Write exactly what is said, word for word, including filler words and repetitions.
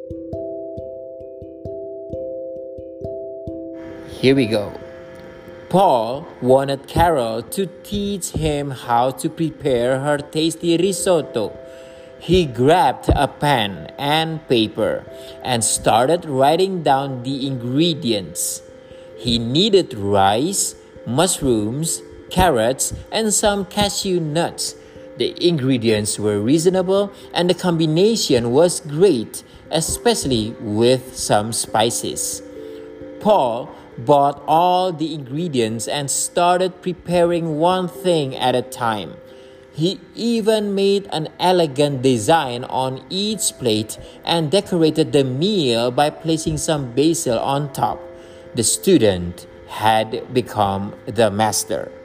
Here we go. Paul wanted Carol to teach him how to prepare her tasty risotto. He grabbed a pen and paper and started writing down the ingredients. He needed rice, mushrooms, carrots, and some cashew nuts. The ingredients were reasonable and the combination was great, especially with some spices. Paul bought all the ingredients and started preparing one thing at a time. He even made an elegant design on each plate and decorated the meal by placing some basil on top. The student had become the master.